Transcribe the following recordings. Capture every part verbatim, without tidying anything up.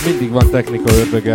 mindig van technika ördöge.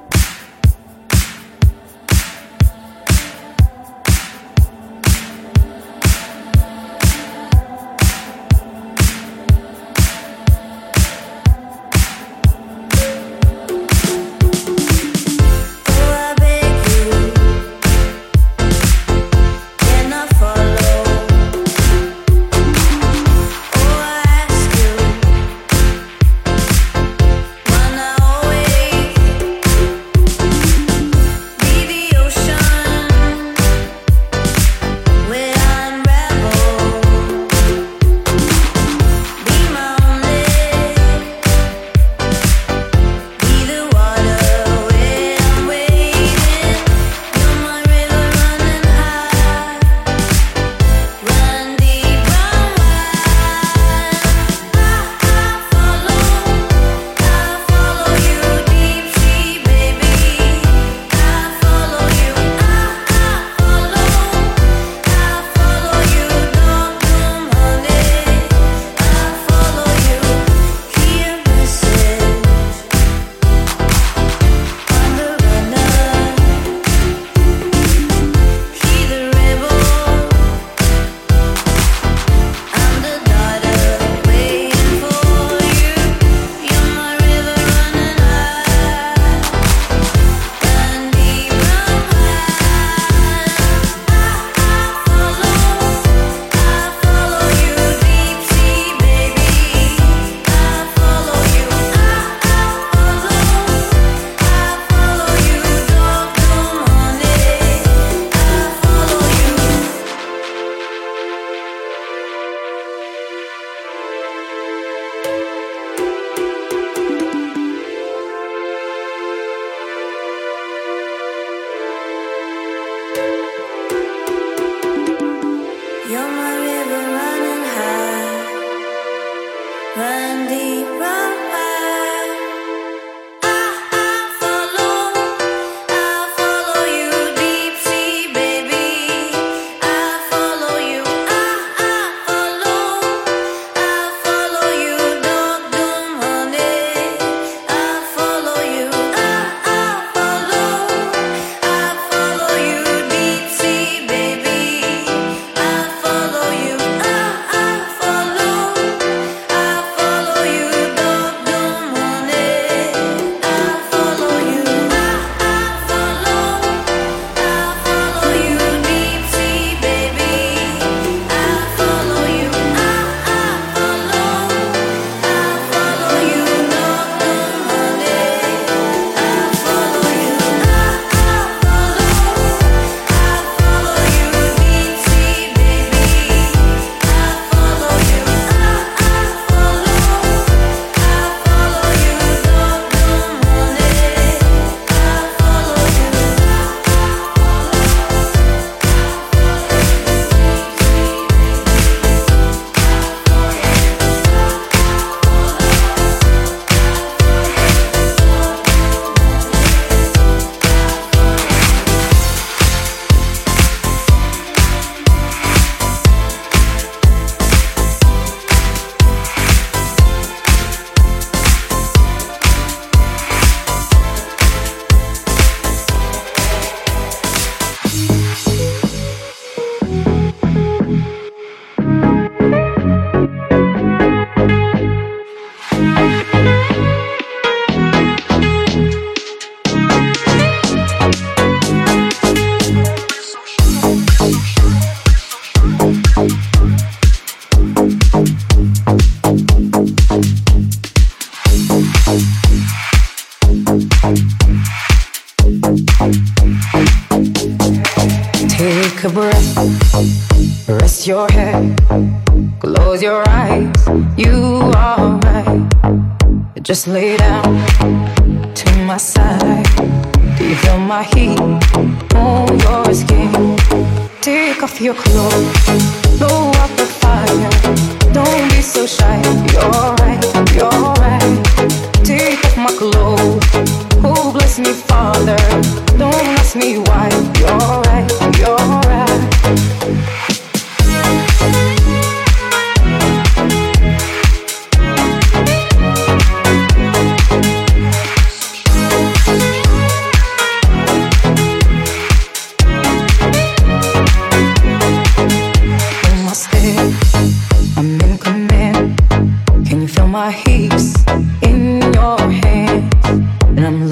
a breath, rest your head, close your eyes, you are right. Just lay down to my side. Do you feel my heat on your skin? Take off your clothes, blow up the fire. Don't be so shy, you're right, you're right. Take off my clothes, oh bless me Father. Don't ask me why, you're right, you're right.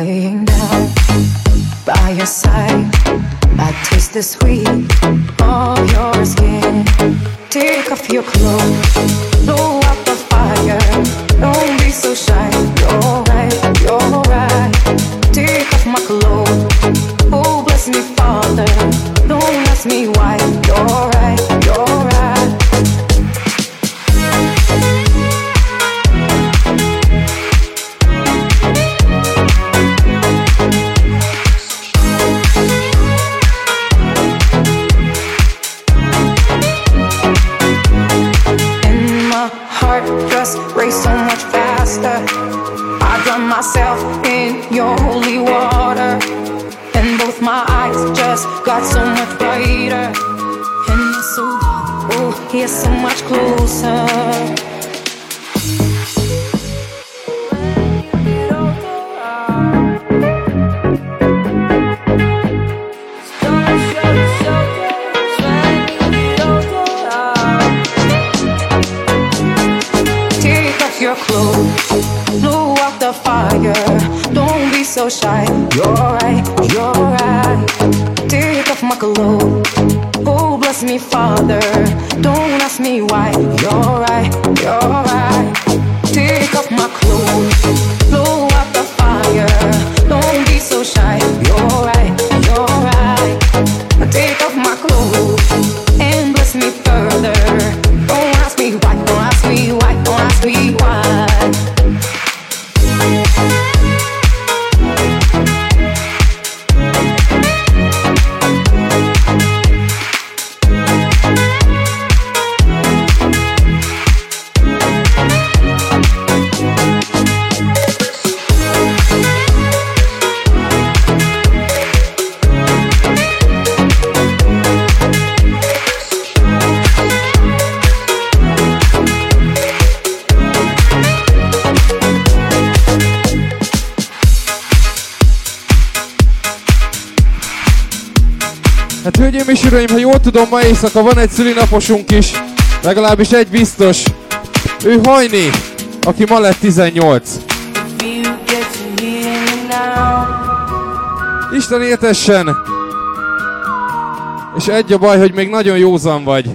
laying down by your side. I taste the sweet of your skin. Take off your clothes, blow out the fire. Don't be so shy. You're right, you're right. Take off my clothes. Oh, bless me, Father. Don't ask me why. You're right, you're right. Race so much faster. I drown myself in your holy water, and both my eyes just got so much brighter. And you're so, oh, you're so much closer. Your clothes, blow out the fire. Don't be so shy. You're right, you're right. Take off my clothes. Oh, bless me, Father. Don't ask me why. You're right, you're right. Take off my clothes, blow out the fire. Don't be so shy. You're right, you're right. Take off my clothes and bless me further. Don't ask me why. Don't ask me why. Don't ask me why. Hát hölgyeim és uraim, ha jól tudom, ma éjszaka van egy szülinaposunk is, legalábbis egy biztos. Ő Hajni, aki ma lett tizennyolc. Isten éltessen! És egy a baj, hogy még nagyon józan vagy.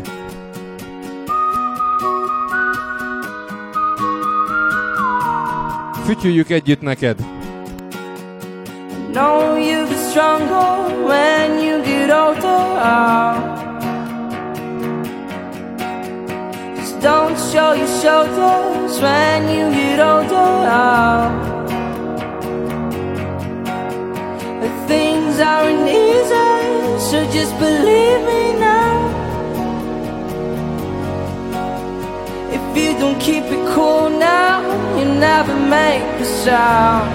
Fütyüljük együtt neked. Know you'll be stronger when you get older. Just don't show your shoulders when you get older. The things aren't easy, so just believe me now. If you don't keep it cool now, you'll never make a sound.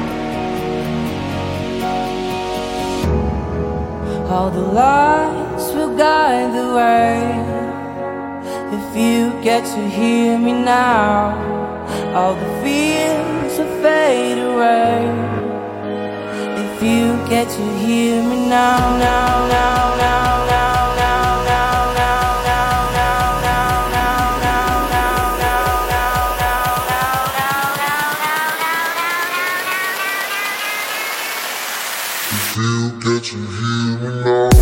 All the lights will guide the way. If you get to hear me now, all the fears will fade away. If you get to hear me now, now, now, now, now, now, now, now, now, now, now, now, now, now, now, now, now, now. If you get to hear me now.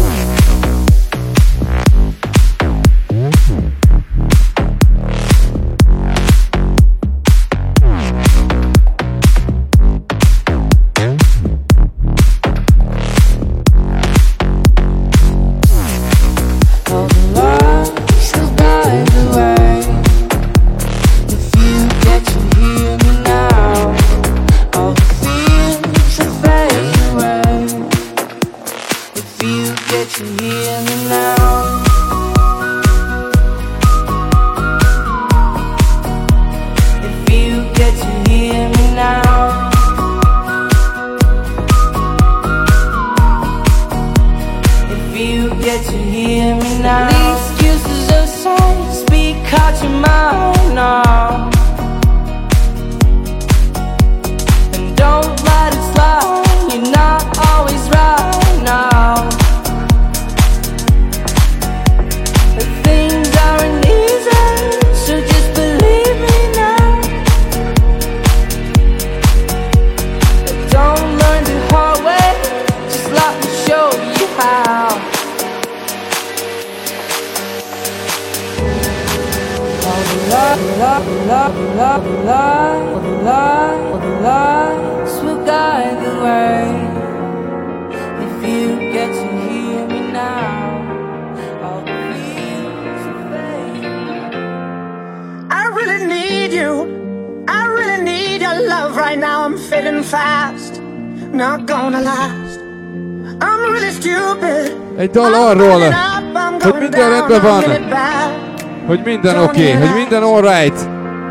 moving fast, not gonna last. I'm really stupid. Egy dal arról, hogy minden rendben van, hogy minden oké, okay, hogy minden alright.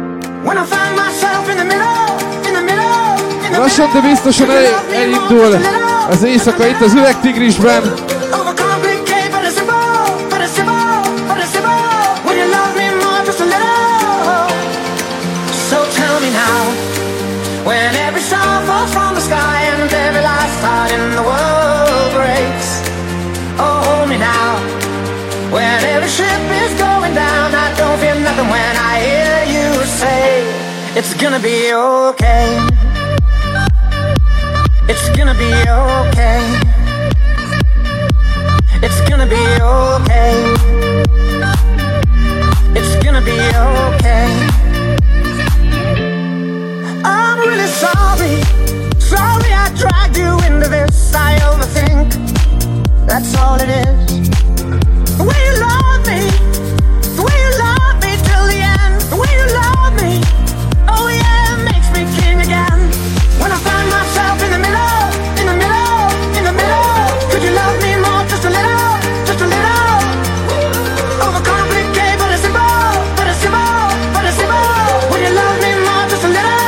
Lassan, de biztosan el, elindul az éjszaka itt az Üvegtigrisben. When every star falls from the sky and every last heart in the world breaks, oh, hold me now. When every ship is going down, I don't feel nothing when I hear you say, it's gonna be okay. It's gonna be okay. It's gonna be okay. It's gonna be okay. I'm really sorry, sorry I dragged you into this. I overthink, that's all it is. The way you love me, the way you love me till the end. The way you love me, oh yeah, it makes me king again. When I find myself in the middle, in the middle, in the middle. Could you love me more, just a little, just a little? Overcomplicate, but it's simple, but it's simple, but it's simple. When you love me more, just a little.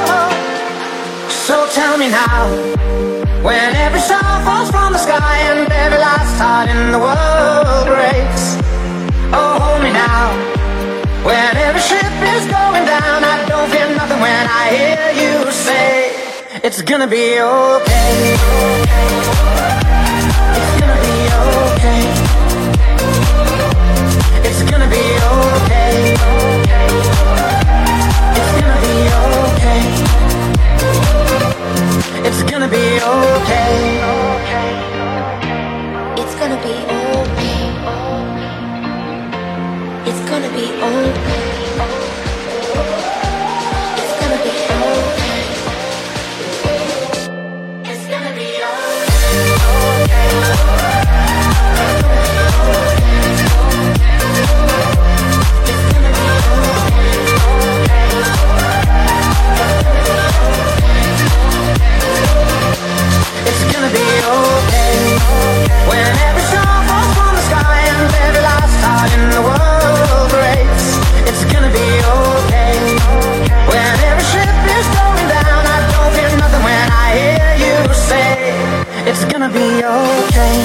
So tell me now, when every star falls from the sky and every last heart in the world breaks, oh, hold me now. When every ship is going down, I don't feel nothing when I hear you say, it's gonna be okay. It's gonna be okay. It's gonna be okay. It's gonna be okay. It's gonna be okay. It's gonna be okay. It's gonna be okay. It's gonna be okay. It's gonna be okay. It's gonna be okay. When every star falls from the sky and every last heart in the world breaks, it's gonna be okay. When every ship is going down, I don't feel nothing when I hear you say, it's gonna be okay.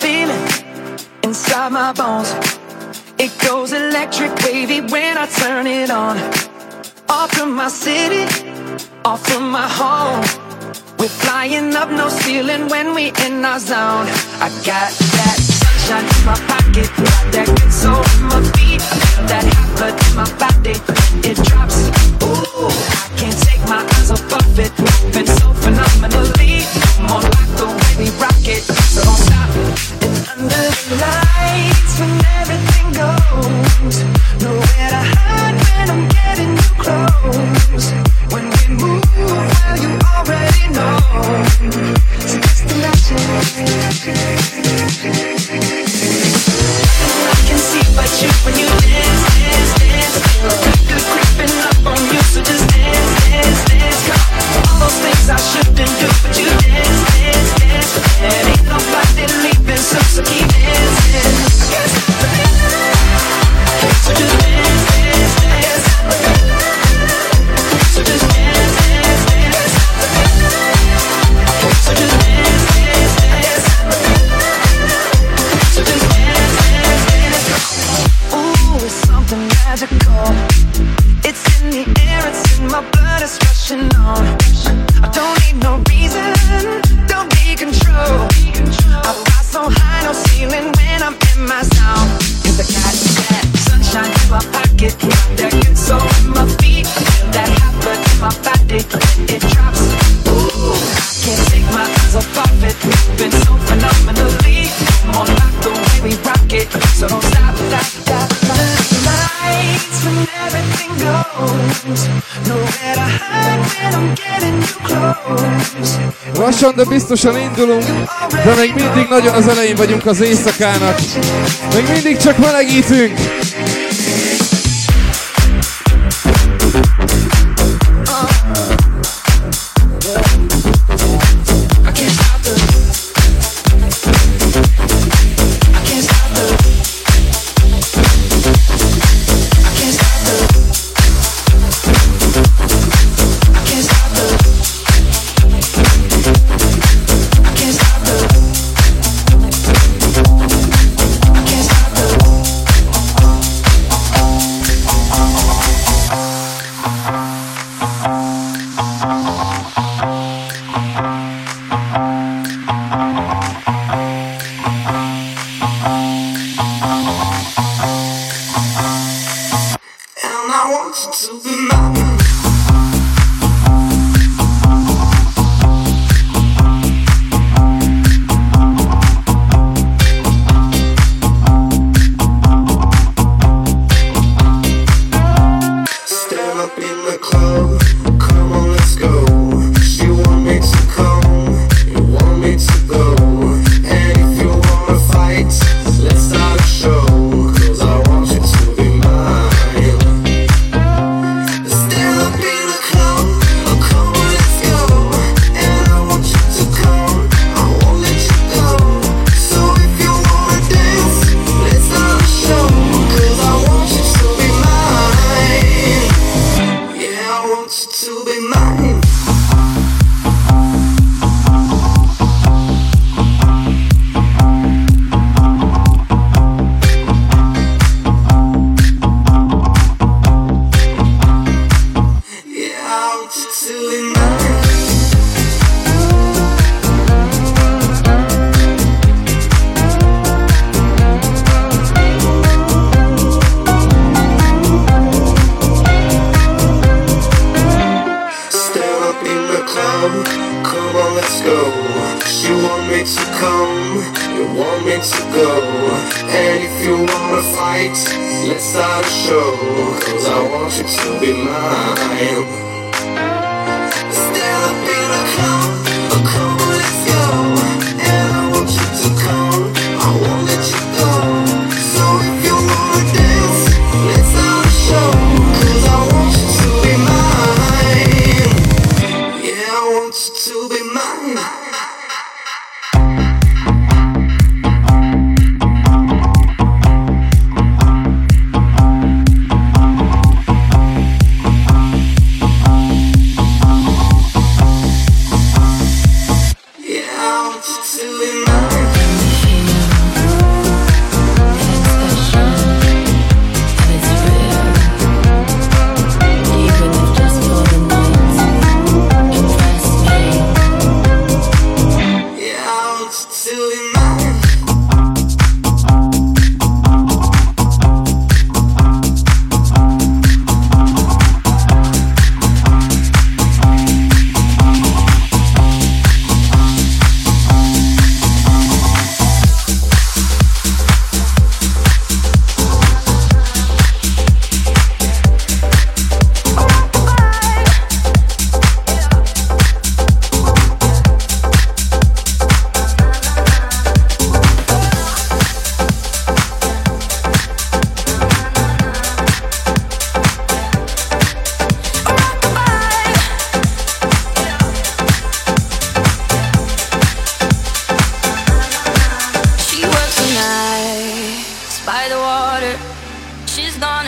feeling inside my bones. It goes electric wavy when I turn it on. Off from my city, off from my home. We're flying up, no ceiling when we in our zone. I got that sunshine in my pocket, got that good soul in my feet. I feel that hot blood in my body, it drops. Ooh, I can't take my eyes off of it. Moving so phenomenally. Come on, like the way we rock it, so don't stop. It's under the lights when everything goes. Nowhere to hide when I'm getting too close. When we move, well, you already know. So just imagine. I can see but you when you dance, dance, dance. Good creeping up on you, so just dance, dance, dance. Come on. All those things I shouldn't do, but you dance, dance, dance. And ain't nobody leaving, so, so keep dancing. I can't stop the feeling. So just dance, dance, dance. So just dance, dance, dance. So just dance, dance, dance. So just dance, dance, dance. Ooh, it's something magical. It's in the air, it's in my blood, it's rushing on. I don't need no reason, don't need control. I fly so high, no ceiling when I'm in my zone. Cause I got that sunshine in my pocket, got that good soul in my feet. I feel that hot blood in my body, it drops. Ooh, I can't take my eyes off of it. Moving so phenomenally. Come on, like the way we rock it, so don't stop, stop, stop. Lights when everything goes. Nowhere to hide when I'm getting too close. Lassan, de biztosan indulunk, de még mindig nagyon az elején vagyunk az éjszakának. Még mindig csak melegítünk.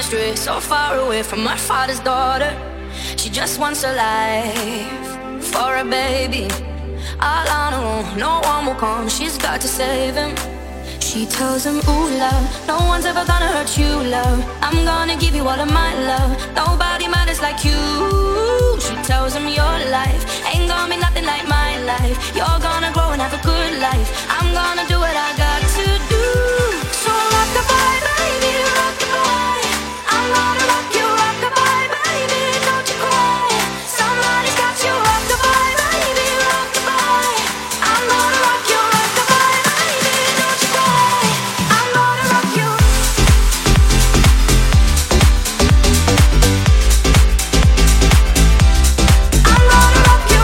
astray, so far away from her father's daughter. She just wants a life for a baby. All on her own, no one will come, she's got to save him. She tells him, ooh love, no one's ever gonna hurt you, love. I'm gonna give you all of my love, nobody matters like you. She tells him your life ain't gonna be nothing like my life. You're gonna grow and have a good life. I'm gonna do what I got to do. So rock-a-bye, baby, rock-a-bye. I'm gonna rock you, rock-a-bye, baby, don't you cry. Somebody's got you, rock-a-bye, baby, rock-a-bye. I'm gonna rock you, rock-a-bye, baby, don't you cry. I'm gonna rock you. I'm gonna rock you.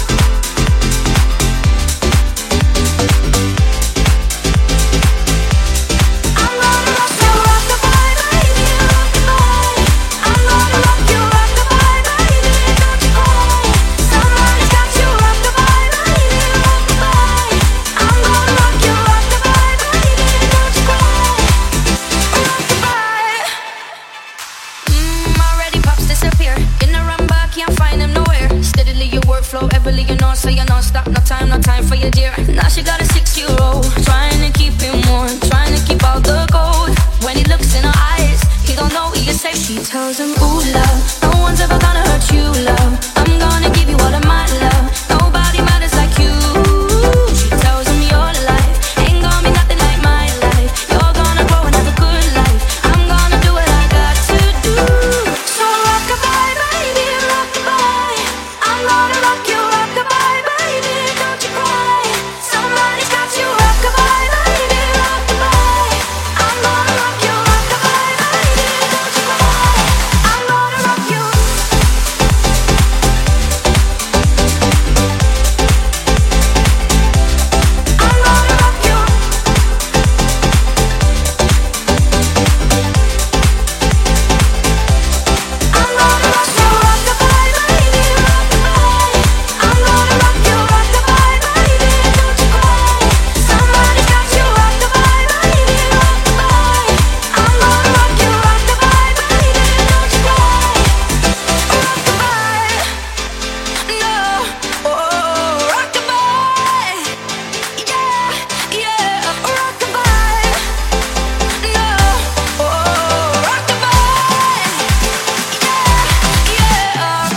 I'm gonna rock you, rock-a-bye, baby, rock-a-bye. I'm gonna rock you, rock-a-bye, baby, don't you cry. Somebody's got you, rock-a-bye, baby, rock-a-bye. I'm gonna rock you, rock-a-bye, baby, don't you cry. Rock-a-bye. Mm, already pops disappear. In the run back, can't find him nowhere. Steadily your workflow, everly you know, so you non stop. No time, no time for your dear. Now she got a six-year-old, trying to keep him warm, trying to keep all the gold. When he looks in her eyes, he don't know he is safe. She tells him, ooh love, no one's ever gonna hurt you, love. I'm gonna give you all of my love, nobody matters like you. She tells him your life ain't gonna be nothing like my life. You're gonna grow and have a good life. I'm gonna do what I got to do. So rock-a-bye, baby, rock-a-bye. I'm gonna rock you, rock-a-bye, baby, don't you cry. Somebody's got you, rock-a-bye, baby, rock-a-bye. I'm gonna rock you, rock-a-bye, baby, don't you cry. I'm gonna rock you. I'm gonna rock you. I'm gonna rock you, rock-a-bye, baby, rock-a-bye. I'm gonna rock you, rock-a-bye, baby, don't you cry. Somebody's got you, rock-a-bye, baby, rock-a-bye. I'm gonna rock you, rock-a-bye, baby, don't you cry. Rock-a-bye, no, oh, rock-a-bye, yeah, yeah, rock-a-bye, no, oh, rock-a-bye, yeah, yeah,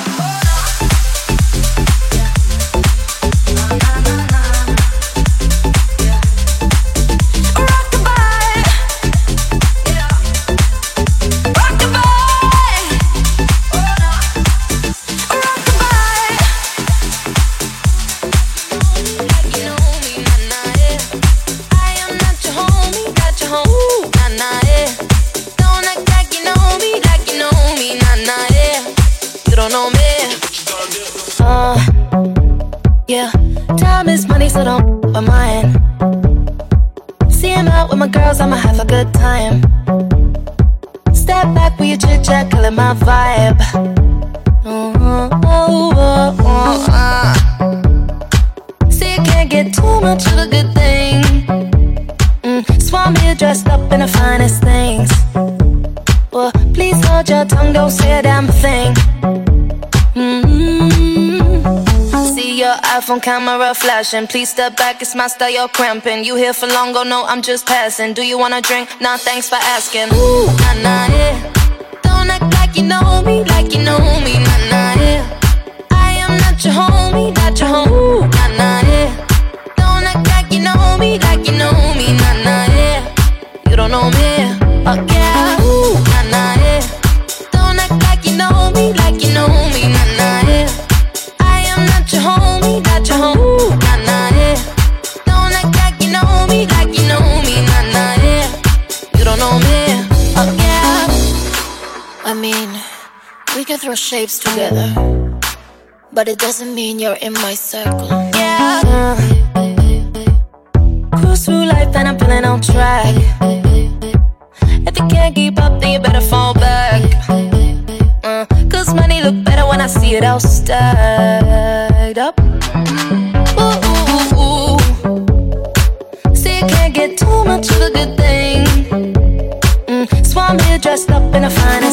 rock-a-bye, yeah, rock-a-bye, rock-a-bye. You know me, nah, nah, yeah. I am not your homie, not your homie, nah, nah, yeah. Don't act like you know me, like you know me, nah, nah, yeah. You don't know me. Uh, yeah. Time is money, so don't f- with mine. See him out with my girls, I'ma have a good time. Step back with your chit chat, killing my vibe. Oh, oh, oh, oh, oh, uh. See, you can't get too much of a good thing. Mm, Swan me dressed up in the finest things. Well, please hold your tongue, don't say a damn thing. Mm-hmm. See your iPhone camera flashing. Please step back, it's my style, you're cramping. You here for long, go no, I'm just passing. Do you wanna drink? Nah, thanks for asking. Ooh, nah, nah, yeah. Don't act like you know me, like you know me, nah, nah, yeah. I am not your homie, not your homie, nah, nah, yeah. Don't act like you know me, like you know me, nah, nah, yeah. You don't know me, oh yeah, ooh, nah, nah, yeah. Don't act like you know me, like you know me, nah, nah, yeah. I am not your homie, not your homie, nah, nah, yeah. Don't act like you know me, like you know me, nah, nah, yeah. You don't know me, oh yeah. I mean, we can throw shapes together, but it doesn't mean you're in my circle. Yeah. Uh, cruise through life and I'm feeling on track. If you can't keep up, then you better fall back. Uh, Cause money look better when I see it all stacked up. Ooh, ooh, ooh. See, you can't get too much of a good thing. Mm, Swan here dressed up in a fine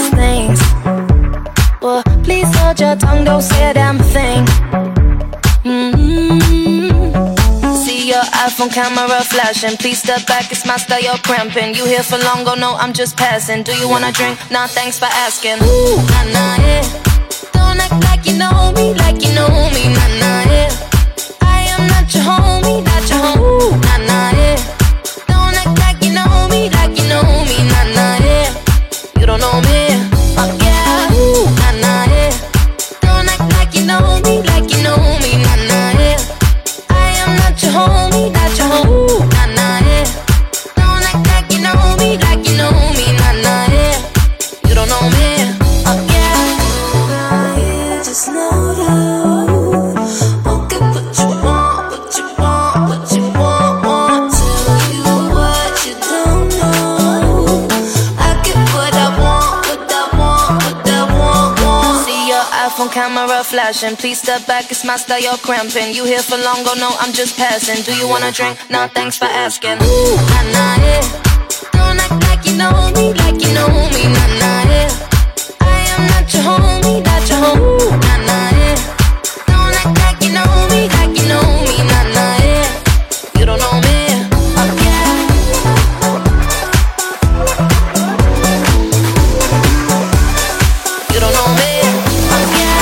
iPhone camera flashing. Please step back, it's my style, you're cramping. You here for long, oh no, I'm just passing. Do you wanna drink? Nah, thanks for asking. Ooh, nah, nah, yeah. Don't act like you know me, like you know me, nah, nah, yeah. I am not your homie, not your homie, nah, nah, yeah. Don't act like you know me, like you know me, nah, nah, yeah. You don't know me, oh yeah, ooh, nah, nah, yeah. Don't act like you know me, like you know me, nah, nah, yeah. I am not your homie, not your homie, nah, nah, yeah. Don't act like you know me, like you know me, nah, nah, yeah. You don't know me, oh yeah. You just know that. Okay, what you want, what you want, what you want, want. Tell you what you don't know. I get what I want, what I want, what I want, want. See your iPhone camera flashing. Please step back, it's my style, you're cramping. You here for long, oh no, I'm just passing. Do you wanna drink? Nah, thanks for asking. Ooh, nah, nah, yeah. Don't act like you know me, like you know me, nah, nah, yeah. I am not your homie, not your homie, nah, nah, yeah. Don't act like you know me, like you know me, nah, nah, yeah. You don't know me, oh yeah. You don't know me, oh yeah.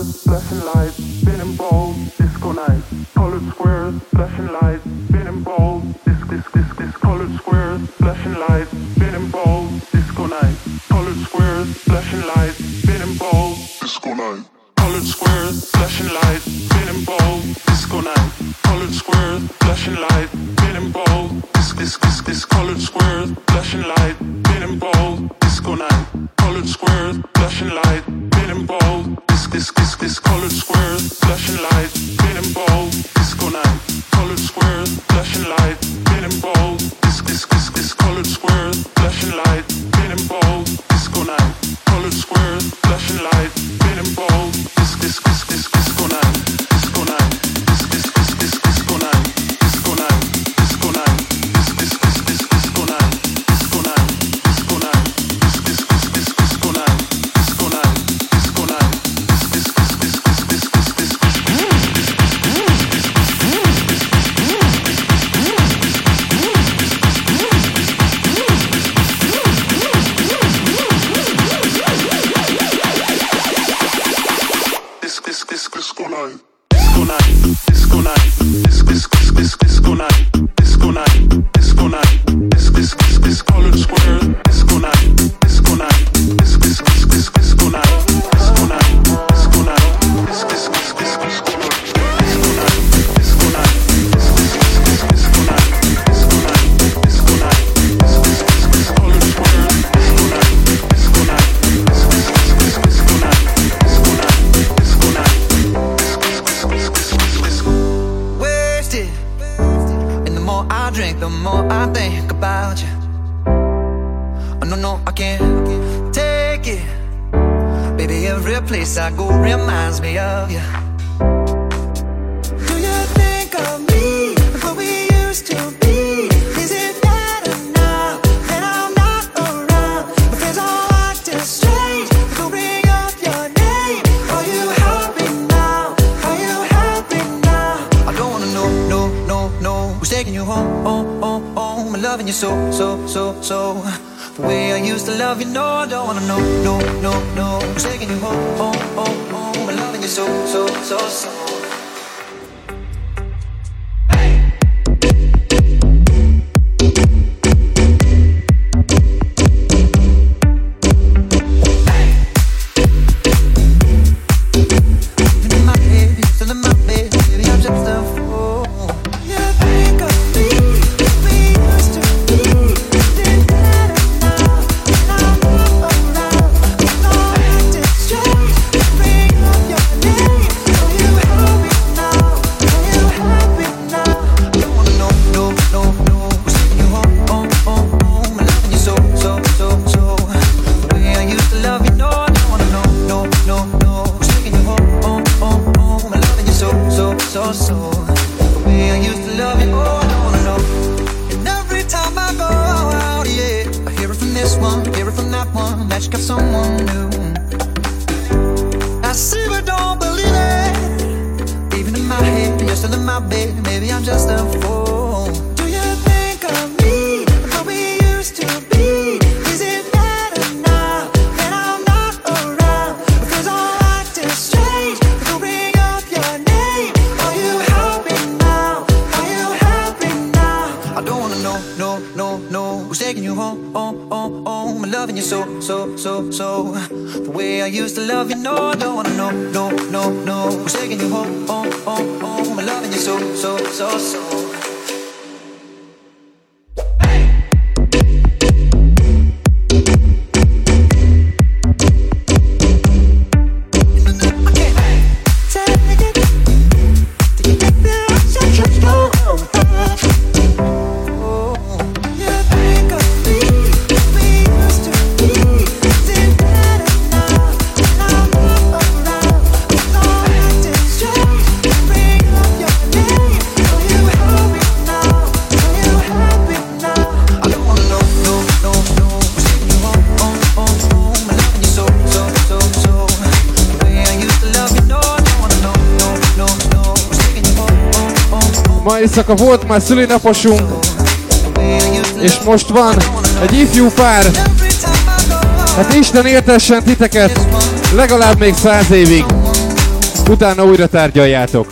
squares, flashing lights, spinning balls, disco night. Colored squares, flashing lights, spinning balls, disc, disc, disc, disc. Colored squares, flashing lights, spinning balls, disco night. Colored squares, flashing lights, spinning balls, disco night. Colored squares, flashing lights, spinning balls, disco night. Colored squares, flashing lights, spinning balls, disc, disc, disc, disc. Colored squares, flashing lights, spinning balls, disco night. Colored squares, flashing lights, spinning balls, disc, disc, disc, disc. Colored squares, flashing lights, spinning balls, disco night. Colored squares, flashing lights, spinning balls, disc, disc, disc, disc. Colored squares, flashing lights, spinning balls, disco night. Colored squares, flashing lights, spinning balls, disc, disc, disc, disc, disco night, disco night, disc, disc, disc, disc, disco night, disco night, disco night, disc, disc, disc, disc, disco night, disco night, disco night, disc, disc, disc, disc, disco night, disco night, disco night, disc, disc, disc, disc, disc, disc, disc, disc, disco night, disco night, disco night, disc, disc, disc, disc, disco night, disco night, disco night, disc, disc, disc, disc. Colored square, disco night, disco night, disc, disc, disc, disc, disco night, disco night, disco night, disc, disc, disc, disc, disco night, disco night, disco night, disc, disc, disc, disc, disco night, disco night, disco night, disc, disc, disc, disc. Colored square, disco night, disco night, disc, disc, disc, disc, disco night, disco night, disco night. Wasted, and the more I drink, the more I think about you. Oh, no, no, I can't take it. Baby, every place I go reminds me of you. Do you think of me, what we used to be? Is it better now that I'm not around? Because all acting strange, go bring up your name. Are you happy now? Are you happy now? I don't wanna know, no, no, no. Who's taking you home, home, home, home? I'm loving you so, so, so, so. The way I used to love you, no, I don't wanna know, no, no, no. Who's taking you home, home, home, home? I'm loving you so, so, so, so. Ma éjszaka volt már szülinaposunk, és most van egy ifjú pár. Hát Isten éltessen titeket legalább még száz évig. utána újra tárgyaljátok.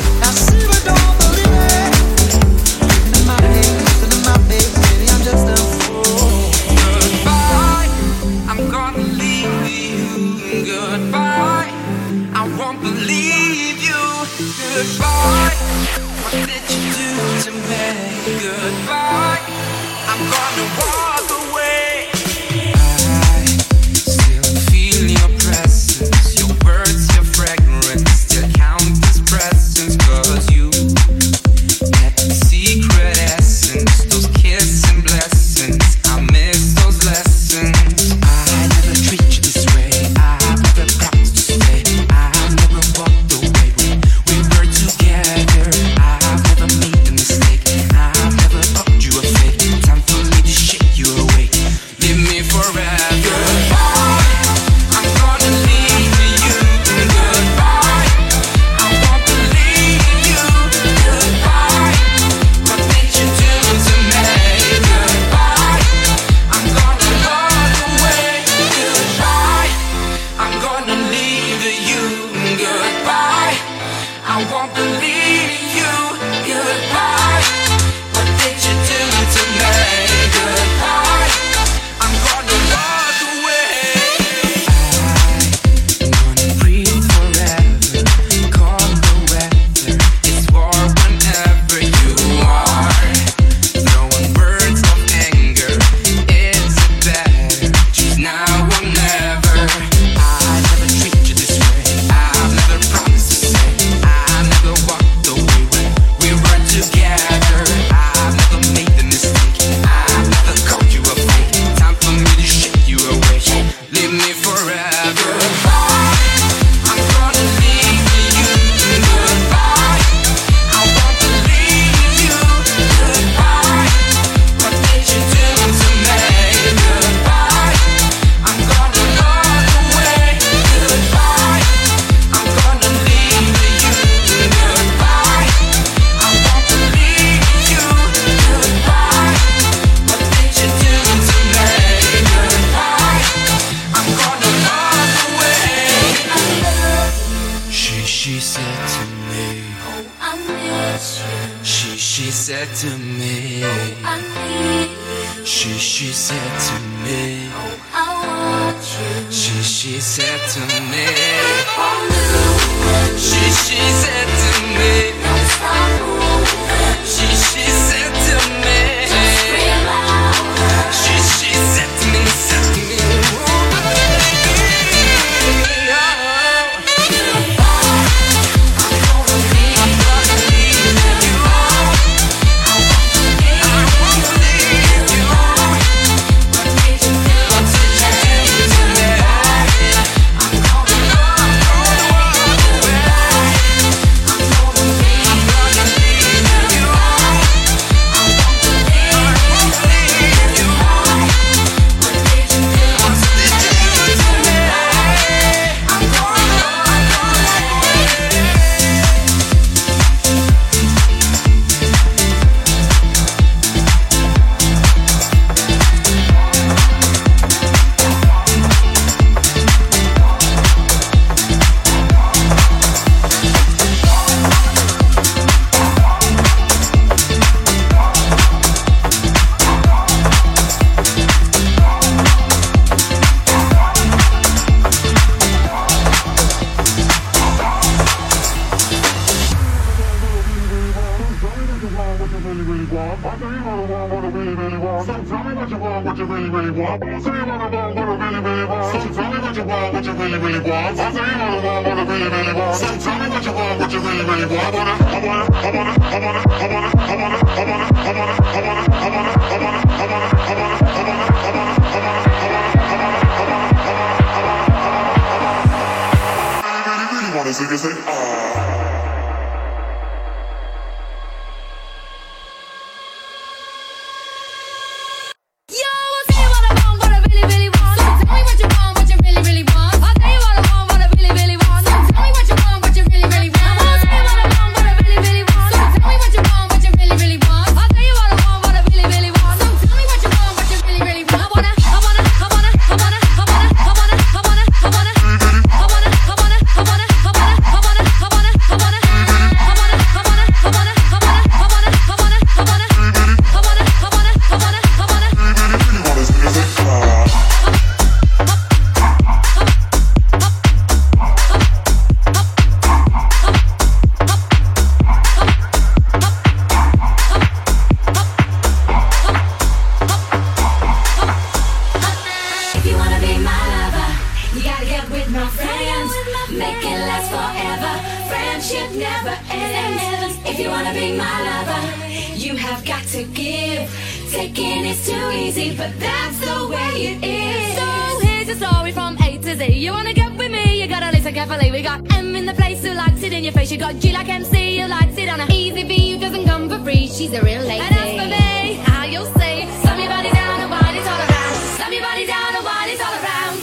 be my lover, you have got to give. Taking is too easy, but that's the way it is. So here's your story from A to Z. You wanna get with me, you gotta listen carefully. We got M in the place who likes it in your face. You got G like M C who likes it on a easy V who doesn't come for free. She's a real lady. And as for me, how you'll say, slam your body down and wind it all around. Slam your body down and wind it all around.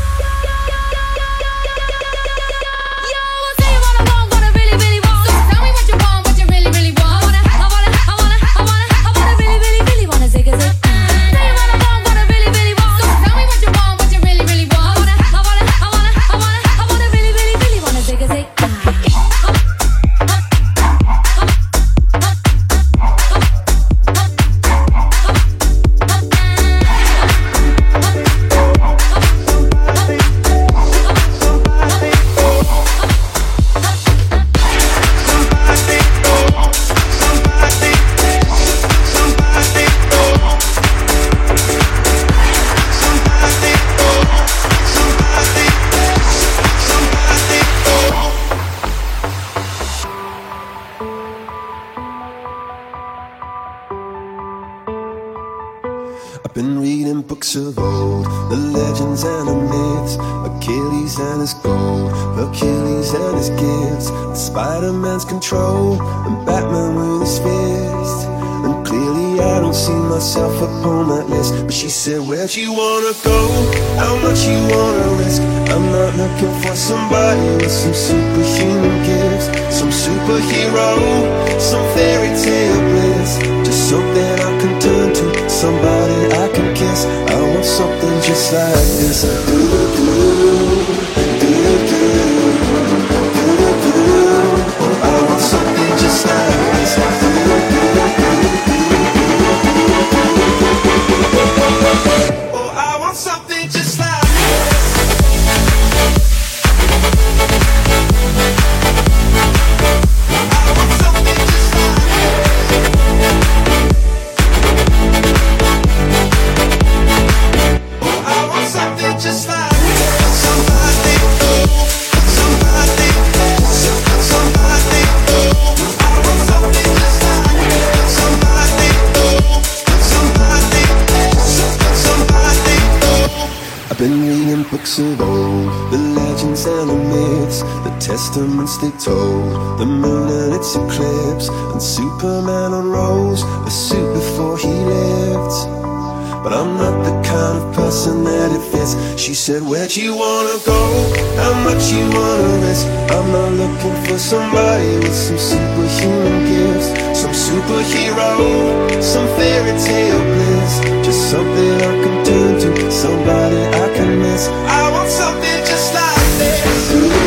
Yo, I'll say what I want, what I really, really want. So tell me what you want, what you really, really want. I wanna, I wanna, I wanna, I wanna, I wanna really, really, really wanna zig a zig. Tell you what I want, what I really, really want. So tell me what you want, what you really, really want. I wanna, I wanna, I wanna, I wanna, I wanna really, really, really wanna zig a zig. I've been reading books of old, the legends and the myths, Achilles and his gold, Hercules and his gifts, Spider-Man's control, and Batman with his fist. And clearly I don't see myself upon that list. But she said, where'd you wanna go? How much you wanna risk? I'm not looking for somebody with some superhuman gifts, some superhero, some fairy tale bliss. Just something I can turn to, somebody I can kiss. I want something just like this. Do-do-do, do-do-do, do-do-do. Oh, I want something just like this. Oh, I want something just like just like somebody, somebody, somebody, I want something just like somebody, somebody, somebody. I've been reading books of old, the legends and the myths, the testaments they told, the moon and its eclipse, and Superman unrolls a suit before he lived. But I'm not the kind of person that it fits. She said, where'd you wanna go? How much you wanna risk? I'm not looking for somebody with some superhuman gifts, some superhero, some fairy tale bliss. Just something I can turn to, somebody I can miss. I want something just like this.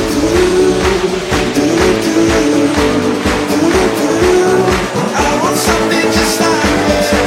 I want something just like this.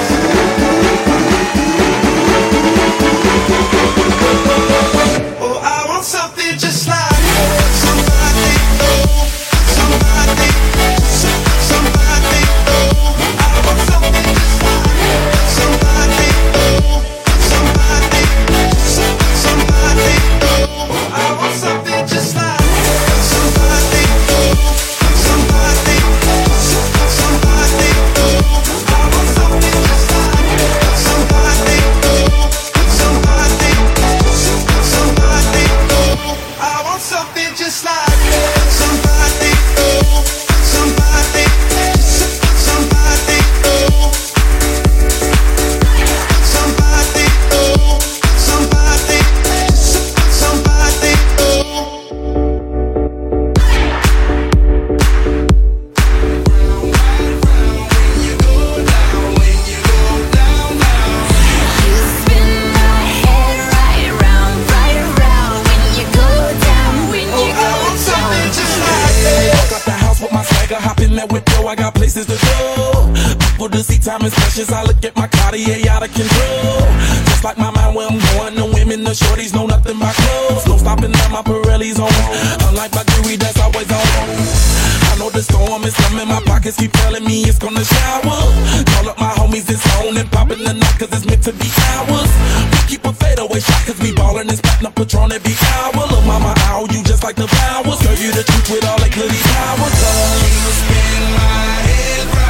Oh, I want something just like somebody, oh, somebody, somebody, oh. I want something just like somebody, oh, somebody, somebody, oh. I want something just like somebody, oh, somebody, somebody, oh. I want something just like somebody, oh, somebody, somebody, oh. I want something just like somebody, oh, somebody, somebody, oh. Somebody, oh, somebody, somebody, oh. You spin my head right round, right round. When you go down, when you I go want something down. just like this. Walk out the house with my swagger, hop in that window, I got places to go. People to see, time is precious, I look at my Cartier out of control. Just like my mind where I'm going, the women, the shorties know nothing but clothes. No stopping at my Pirelli's on. Unlike my jewelry, that's always on. I know the storm is coming, my pockets keep telling me it's gonna shower. Call up my homies, it's on and popping the night, cause it's meant to be ours. We keep a fadeaway shot, cause we ballin' and spatting up Patron every hour. Look mama, ow, you just like the flowers. Girl, you the truth with all that goody powers. You spin my head right.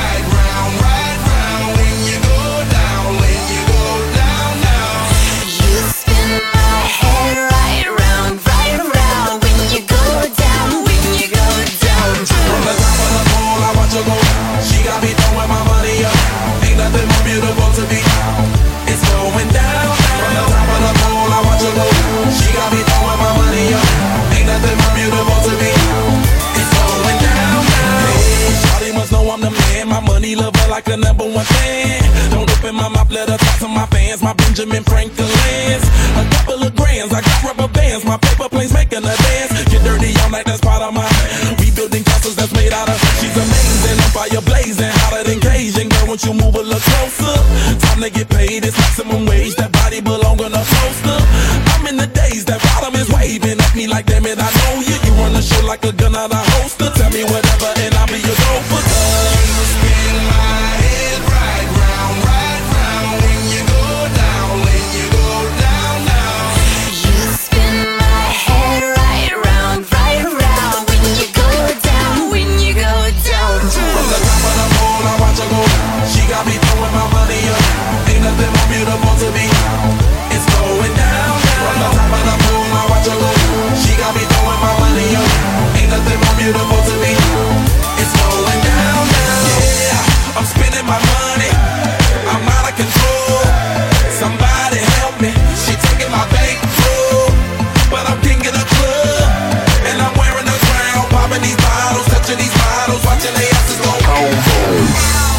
my mouth, let her talk to my fans. My Benjamin Franklin's. A couple of grands, I got rubber bands. My paper planes making a dance. Get dirty all night, that's part of my rebuilding castles that's made out of. She's amazing, I'm fire blazing, hotter than Cajun. Girl, won't you move a little closer? Time to get paid, it's maximum wage. That body belong on a poster. I'm in the days, that bottom is waving at me like, damn it, I know you. You run the show like a gun out of holster. Tell me whatever and I'll be your gopher. You spin my head right round, right round. When you go down, when you go down, down. You spin my head right round, right round. When you go down, when you go down. From the top of the pole, I watch her go down. She got me throwing my money up. Ain't nothing more beautiful to me. It's going down, down. From the top of the pole, I watch her go down. She got me throwing my money up. Ain't nothing more beautiful to me. It's going down, down. Yeah, I'm spending my money. I'm out of control. Somebody help me. She taking my bankroll, but I'm king of the club, and I'm wearing a crown, popping these bottles, touching these bottles, watching they asses go boom.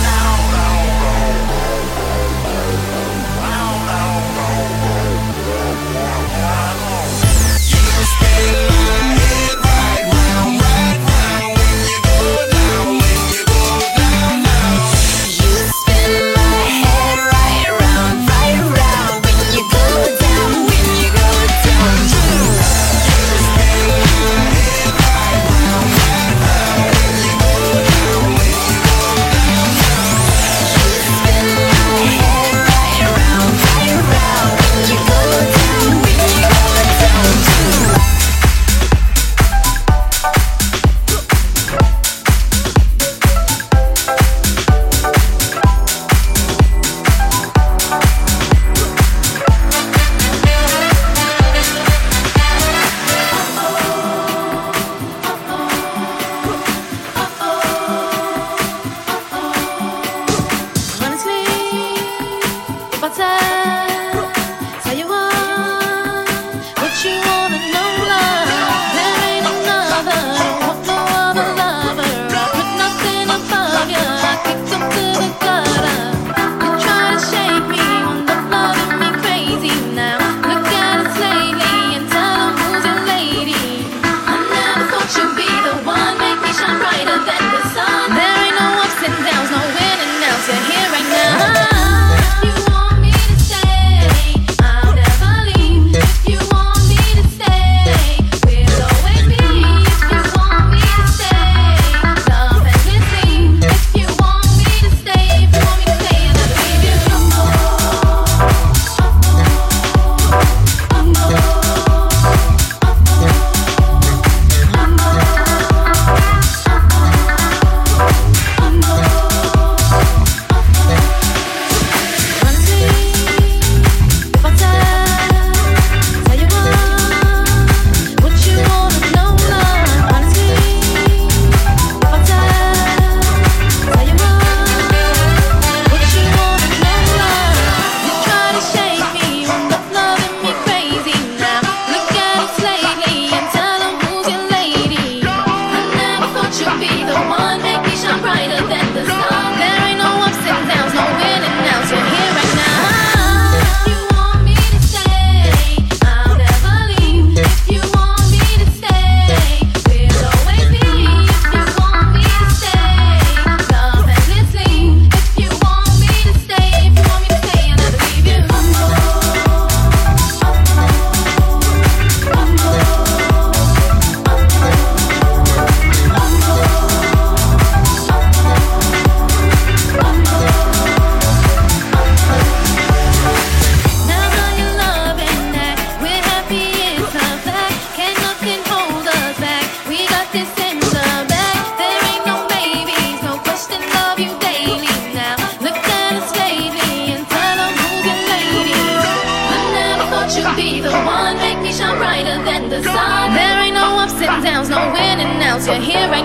else, you're here right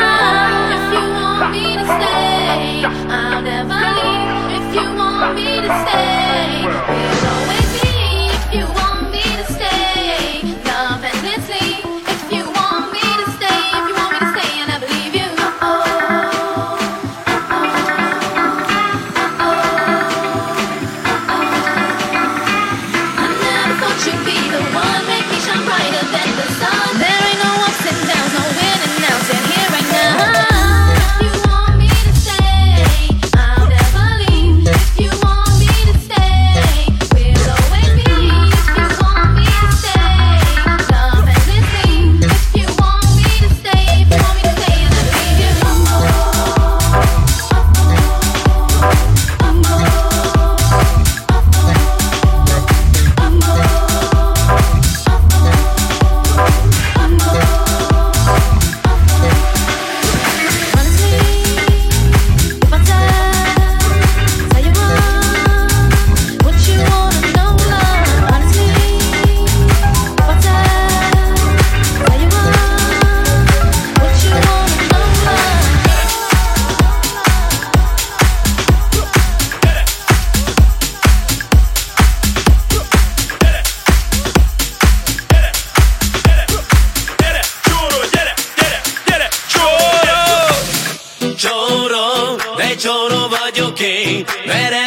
now. If you want me to stay, I'll never leave. If you want me to stay, we'll always be. If you want me to stay, love endlessly. If you want me to stay, if you want me to stay, I never leave you. Uh-oh, uh-oh, uh-oh, uh-oh.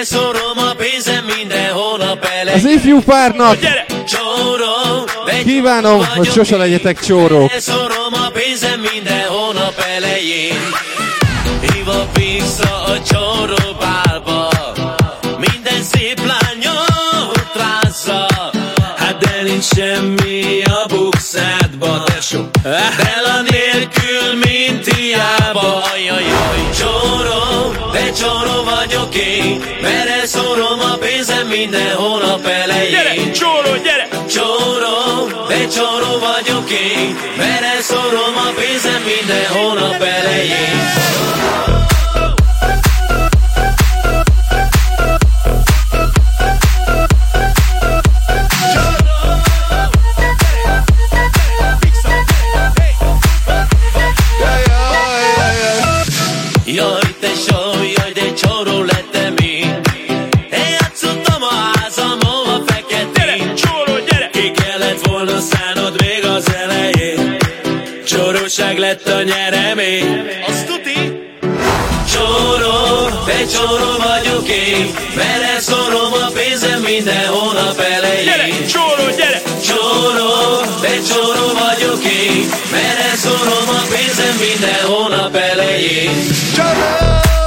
Beleszorom a pénzem minden hónap elején. Az ifjú párnak Csóró, kívánom, hogy sose legyetek csórók. Beleszorom a pénzem minden hónap elején. Hívok vissza a csóró bálba, minden szép lányot rázza. Hát de nincs semmi a bukszádba, tesó, Bella nélkül mint hiába. Ajajaj, csóró, de csóró vagyok én, mert szorom a pénzem minden hónap elején. Gyere, csóró, gyere! Csóró, de csóró vagyok én, mert szorom a pénzem minden hónap elején. Jaj, tesó, jaj, de csóró lettem én. Én játszottam a házam, hova feketén. Gyere, csóró, gyere! Ki kellett volna szánod még az elején. Csóróság lett a nyeremény. Azt tuti? Csóró, de csóró vagyok én, mert szorom a pénzem minden hónap elején. Gyere, csóró, gyere! Csóró, de csóró vagyok én, mert szorom a pénzem minden hónap elején. Csóró!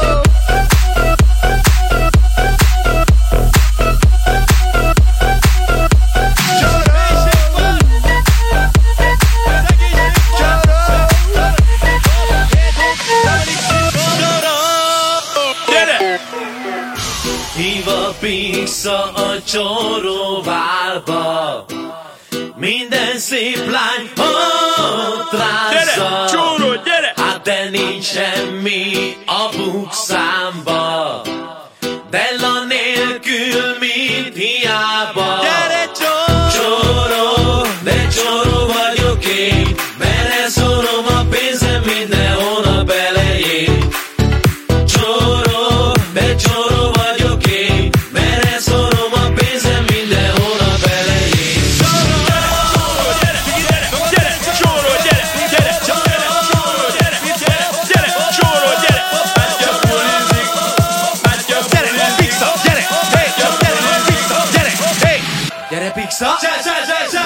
Hívok vissza a csóróválba, minden szép lány ott rázza. Gyere, csóró, gyere! Hát de nincs semmi a bukszámba, Bella nélkül mint hiába. Gyere, csóró! Csóró, de csóró vagyok én, mert szorom a pénzem minden hónap elején. Csóró, de csóró vagyok én, mert szorom a pénzem minden hónap elején. Csóró, gyere, gyere, gyere, csóró, gyere, gyere, gyere, csóró, gyere, gyere, gyere, csóró, gyere, bátya bulizik, bátya bulizik, Pixa, gyere, hey, gyere, Pixa, gyere, hey, gyere Pixa, zsá, zsá, zsá, zsá.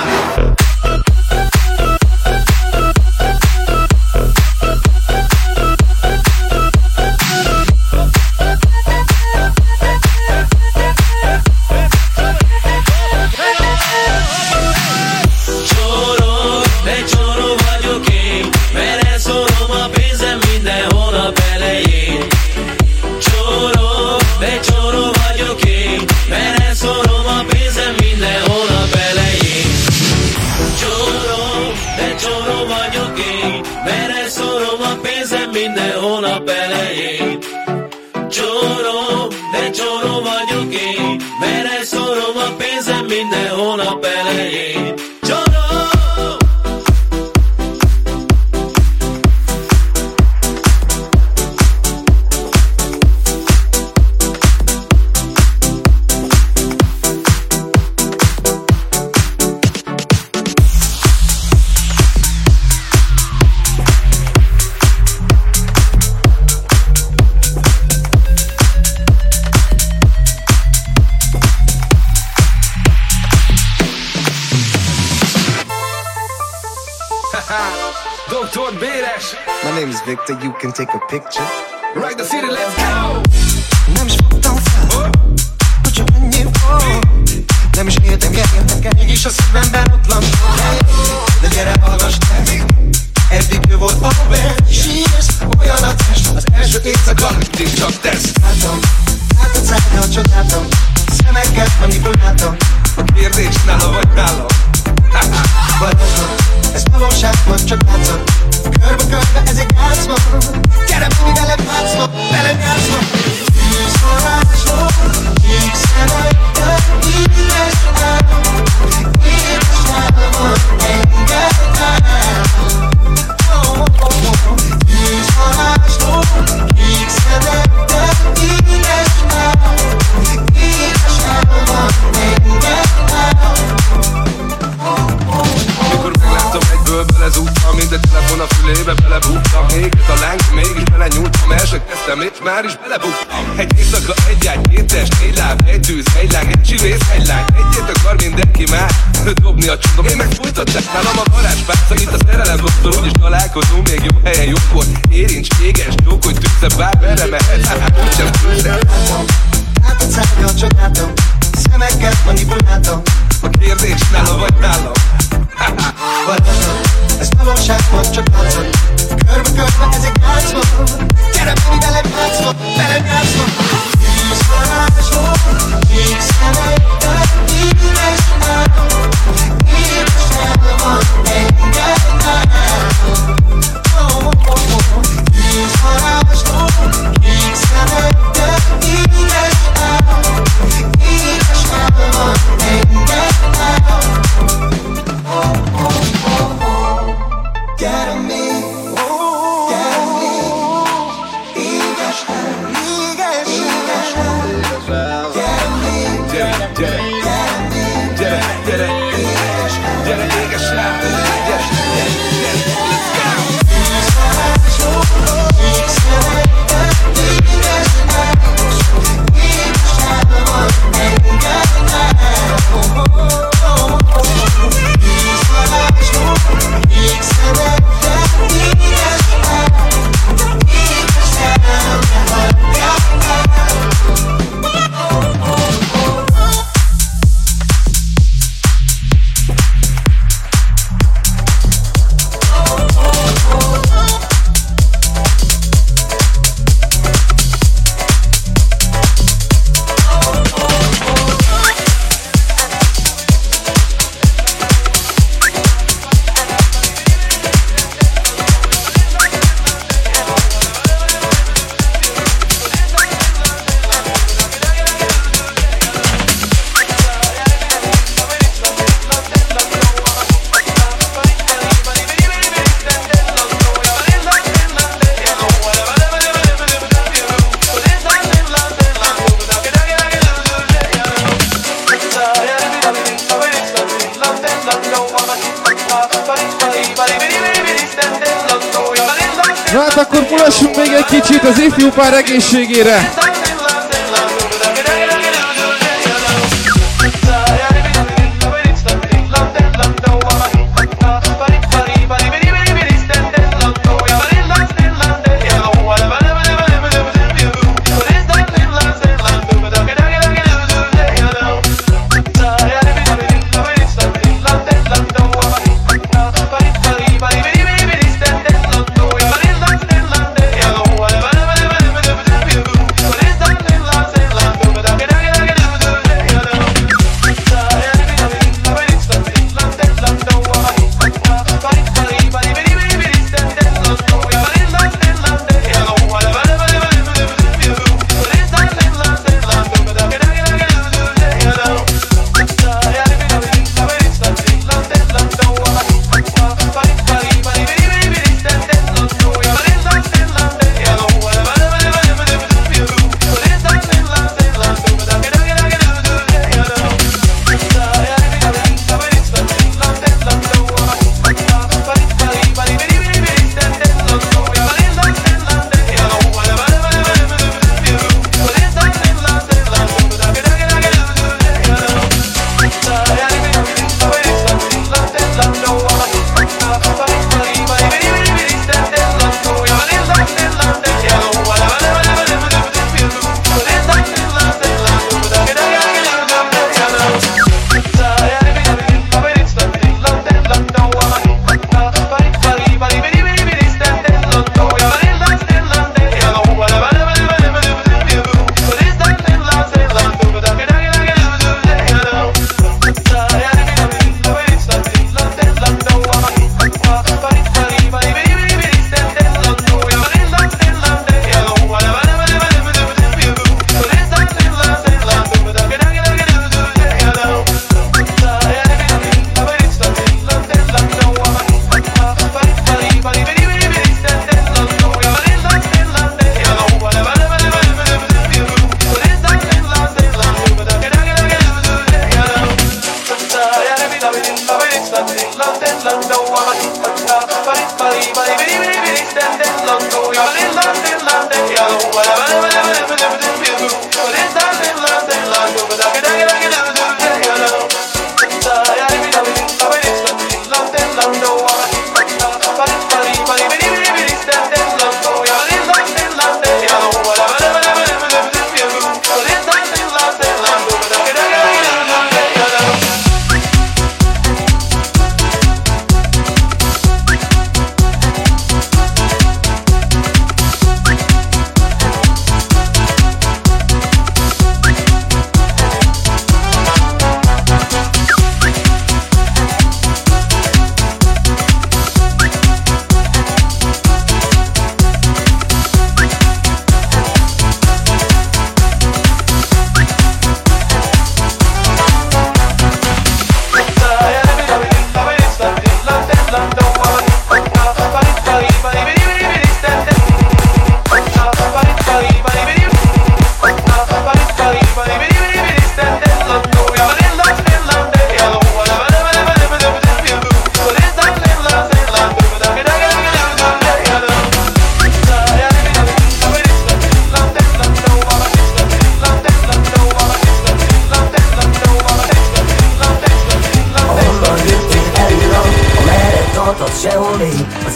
Csóró, de csóró vagyok én, mert szorom a pénzem minden hónap elején. Csóró, de csóró vagyok én, mert szorom a pénzem minden hónap elején. Csóró, de csóró vagyok én, mert szorom a pénzem minden hónap elején. Csóró, de csóró vagyok én, mert szorom a pénzem minden hónap elején. Csóró! doktor Béres. My name is Victor, you can take a picture. Right the city, let's go! Nem is fogtam fel, hogy csak ennyi volt. Nem is értem, gyerjem nekem, mégis a szívemben ott lankol. De gyere, hallgass te, eddig ő volt a band. Sírsz, olyan a test, az első éjszaka, mindig csak tesz. Látom, látod szállal, csodáltam, szemeket manipuláltam. A kérdés nála vagy nálam? Vadasban, ez valóságban csak látszat. Körbe-körbe ez egy játszma. Gyere, menj velem játszma, velem játszma. Tűzforrásról, kék szemekkel, édes álom, édes álmon engedd el. Tűzforrásról, kék szemekkel, édes álom, édes álmon engedd el. Mikor megláttam egyből belezúgtam, minden telefon a fülébe belebúgtam. Éget a láng, mégis belenyúltam, el sem kezdtem és már is belebúgtam. Egy éjszaka, egy ágy, két test, tűz, hegylány, egy csüvész, hegylány. Egyet akar mindenki már dobni a csundom. Én meg fújtatták nálam a varázspárca, itt a szerelem doktor, úgyis találkozunk még jobb helyen, jobbkor. Érincs, éges, csókolj, tűzze, bár merre mehet, hát úgysem tűzze. Látod szárnyal, csak látom, szemekkel manipuláltam. A kérdés nála vagy nálam? Varázslat, ez valóság volt, csak látszod. Körbe-körbe ezek játszva. Gyere, menj velem játszva, velem játszva. Tűz varázsló, kék szemekkel, édes álom. Édes álom, engedd álom. Tűz varázsló, kék szemekkel, édes álom. Édes álom, engedd álom. Get on me, get on me. Éges álom, éges álom. Get on me, Gyere, gyere, gyere, gyere, gyere, éges álom, éges, gyere, gyere, let's go! tűz varázsló, kék szemekkel, édes álom. Édes álom, engedd álom. Tűz varázsló, kék szemekkel, édes álom. Édes álom, engedd Na hát akkor mulassunk még egy kicsit az ifjú pár egészségére. So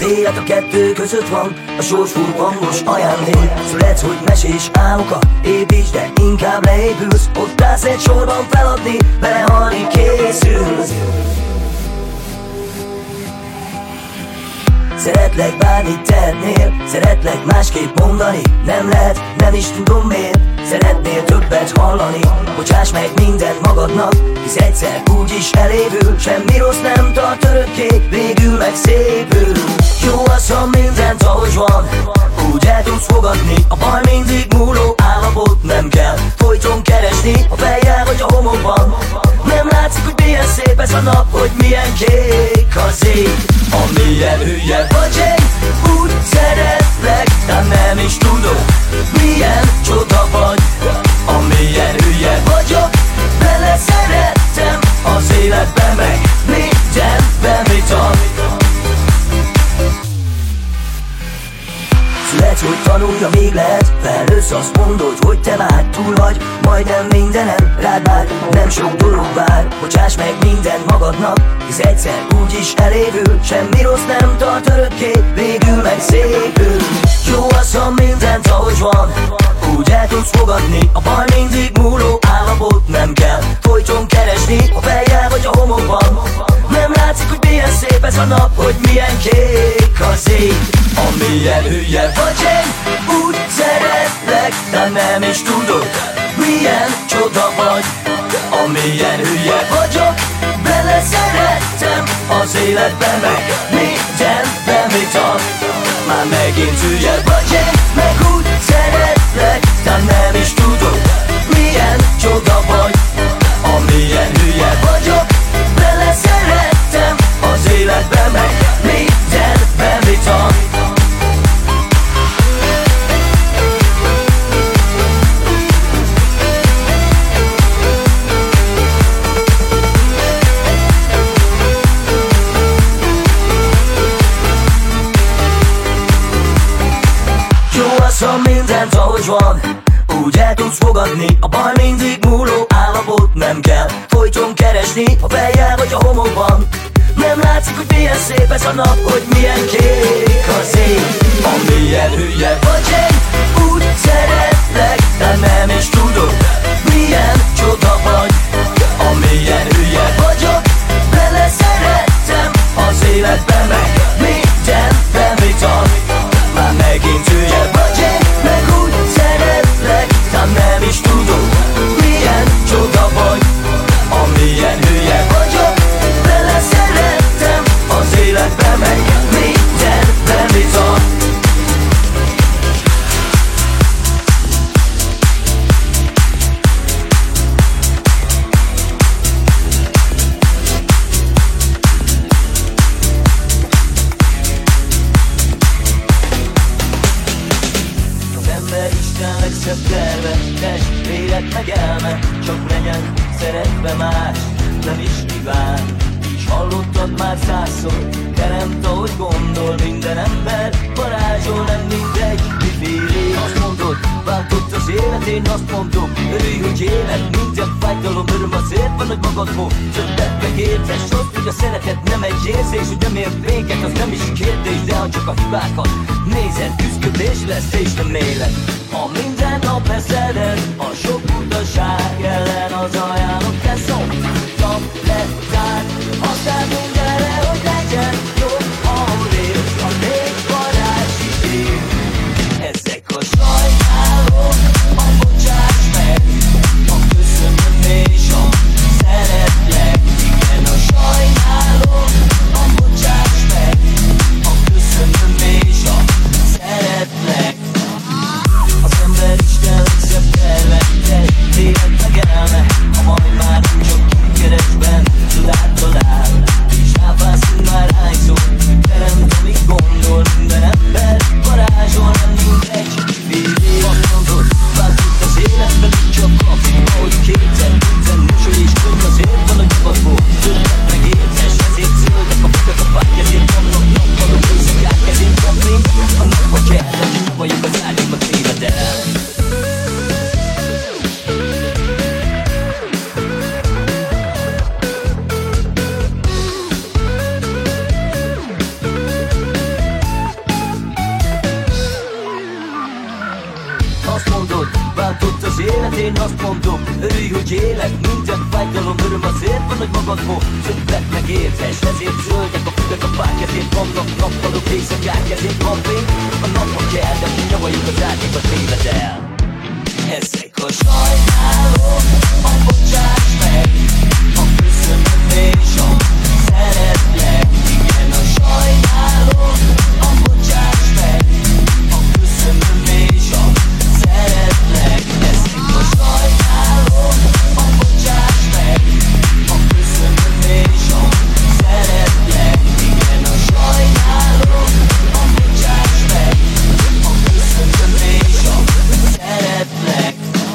élet a kettő között van, a sors furpangos ajándék. Születsz, hogy mesés álmokat építs, de inkább leépülsz. Ott állsz egy sorban feladni, belehalni készülsz. Szeretlek bármit tehetnél, szeretlek másképp mondani. Nem lehet, nem is tudom miért. Szeretnél többet hallani, bocsáss meg mindent magadnak, hisz egyszer úgyis elévül. Semmi rossz nem tart örökké, végül meg szépül. Jó az, ha mindent ahogy van, úgy el tudsz fogadni. A baj mindig múló állapot, nem kell folyton keresni a fejjel vagy a homokban. Nem látszik, hogy milyen szép ez a nap, hogy milyen kék az ég. Amilyen hülye vagy én, úgy szeretlek, de nem is tudod, milyen csoda vagy. Amilyen hülye vagyok, bele szerettem az életben, meg mindenben, mit ad. Születsz, hogy tanulja, még lehet, felnősz, azt mondod, hogy te már túl vagy majdnem mindenen, rád már nem sok dolog vár. Bocsáss meg mindent magadnak, hisz egyszer úgyis elévül. Semmi rossz nem tart örökké, végül meg szépül. Jó az, ha mindent ahogy van, úgy el tudsz fogadni. A baj mindig múló állapot, nem kell folyton keresni a fejjel vagy a homokban. Nem látszik, hogy milyen szép ez a nap, hogy milyen kék az ég. Amilyen hülye vagy én, úgy szeretlek, de nem is tudod, milyen csoda vagy. Amilyen hülye vagyok, bele szerettem az életben, meg mindenben, mit ad. Már megint hülye vagy én, meg úgy szeretlek, de nem is tudod, milyen csoda vagy. Amilyen hülye vagyok, bele szerettem az életben, meg mindenben, mit ad. Ha mindent ahogy van, úgy el tudsz fogadni. A baj mindig múló állapot, nem kell folyton keresni a fejjel vagy a homokban. Nem látszik, hogy milyen szép ez a nap, hogy milyen kék az ég. Amilyen hülye vagy én, úgy szeretlek, de nem is tudod, milyen csoda vagy. Amilyen hülye vagyok, bele szerettem az életben, meg mindenben, mit ad. Már megint hülye vagy én, meg úgy szeretlek, de nem is tudod, milyen csoda vagy. Amilyen hülye vagyok, bele szerettem az életbe, meg mindenben, mit ad. Meg elme, csak legyen szeretve más, nem is kíván. Így hallottad már százszor, teremt ahogy gondol. Minden ember varázsol, nem mindegy, mi féli. Azt mondod, váltott az élet, én azt mondom, örülj, hogy élet. Minden fájdalom, öröm azért van, hogy magadból többet megértes. Azt, hogy a szeretet nem egy érzés, hogy nem ért véget, az nem is kérdés. De ha csak a hibákat nézed, küszködés lesz és nem élet. Ha minden nap eszeled, a sok utaság ellen az ajánlott kell szoktam lettád. Aztán mindenre, hogy legyen jobb, ahol élsz, a még varázsi év. Ezek a sajnálók, a bocsáss meg, a köszönöm és a szeretlek. Igen, a sajnálók, a bocsáss meg, a köszönöm és a szeretlek. Az ember Isten legszebb terve, élet meg elme, ha majd már csak keresben csodát talál. És ragadó, többet meg értes. Ezért zöldek a füvek, a fák, ezért vannak nappalok, éjszakák, ezért van fény. A napra kell, de mi nyavajunk az árnyékat téved el. Ezek a sajnálom, a bocsáss meg, a köszönöm és a szeretlek. Igen, a sajnálom, a bocsáss meg, a köszönöm és a szeretlek. Ezek a sajnálom, a bocsáss meg, a köszönöm és a szeretlek. Igen, a sajnálom, a bocsáss meg, a köszönöm és a szeretlek.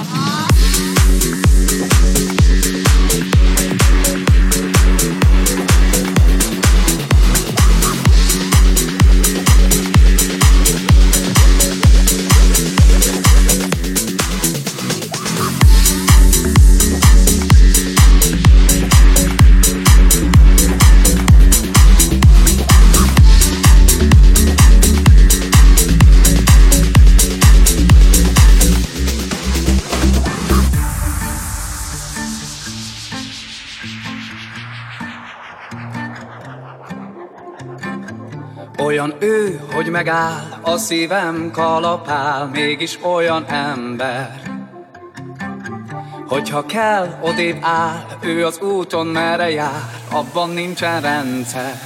Olyan ő, hogy megáll, a szívem kalapál, mégis olyan ember. Hogyha kell, odébb áll, ő az úton merre jár, abban nincsen rendszer.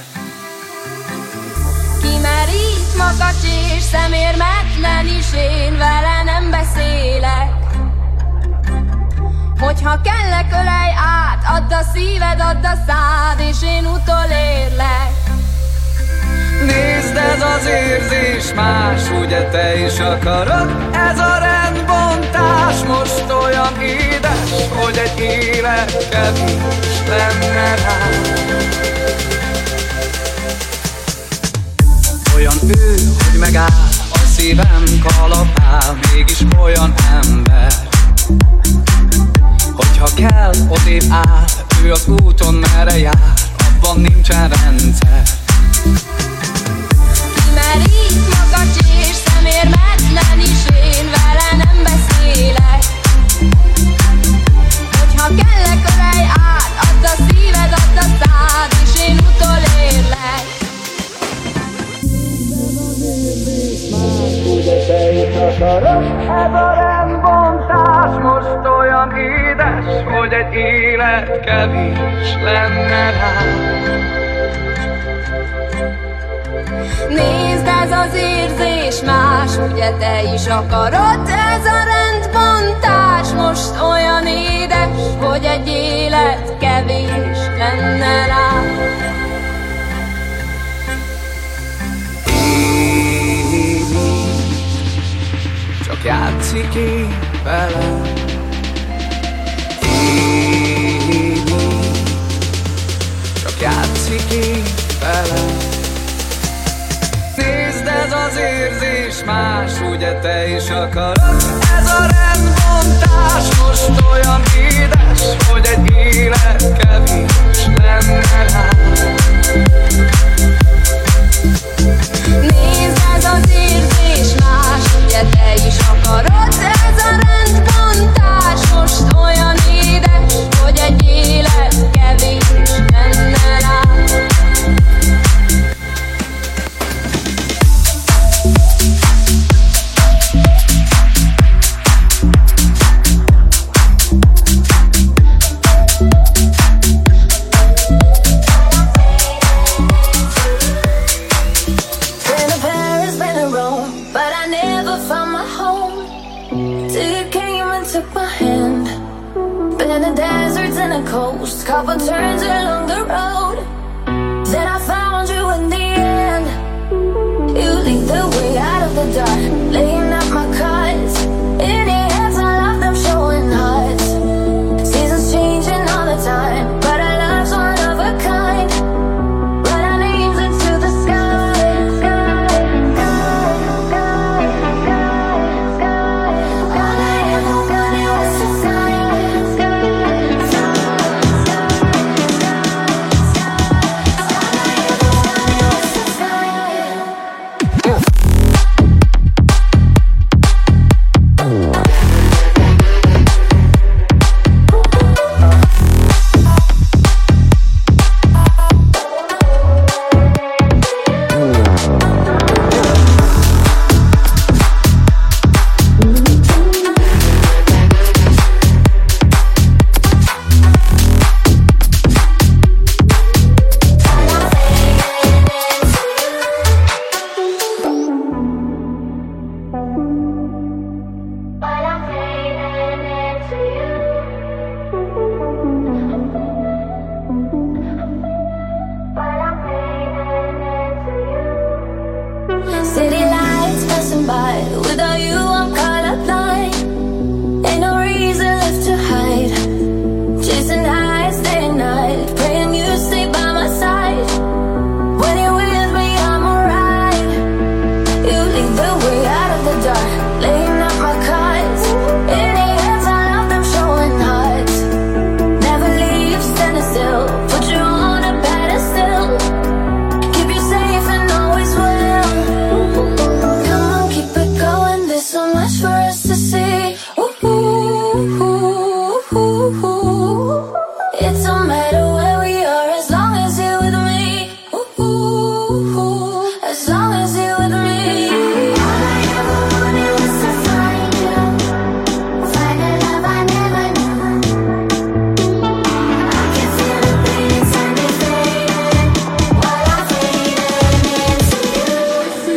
Kimerít makacs és szemérmetlen is, én vele nem beszélek. Hogyha kellek, ölej át, add a szíved, add a szád, és én utolérlek. Nézd, ez az érzés más, ugye te is akarod? Ez a rendbontás most olyan édes, hogy egy élet kevés lenne rá. Olyan ő, hogy megáll, a szívem kalapál, mégis olyan ember. Hogyha kell, odébb áll, ő az úton merre jár, abban nincsen rendszer. Kimerít makacs és szemérmetlen is, én vele nem beszélek. Hogyha kellek, ölej át, add a szíved, add a szád, és én utolérlek. Ez a rendbontás most olyan édes, hogy egy élet kevés lenne rá. Nézd, ez az érzés más, ugye te is akarod? Ez a rendbontás most olyan édes, hogy egy élet kevés lenne rá. Évi, csak játszik én velem. Évi, csak játszik én velem. Nézd, ez az érzés más, ugye te is akarod? Ez a rendbontás most olyan édes, hogy egy élet kevés lenne rá. Nézd, ez az érzés más, ugye te is akarod? Ez a rendbontás most olyan édes, hogy egy élet kevés lenne rá. Couple turns along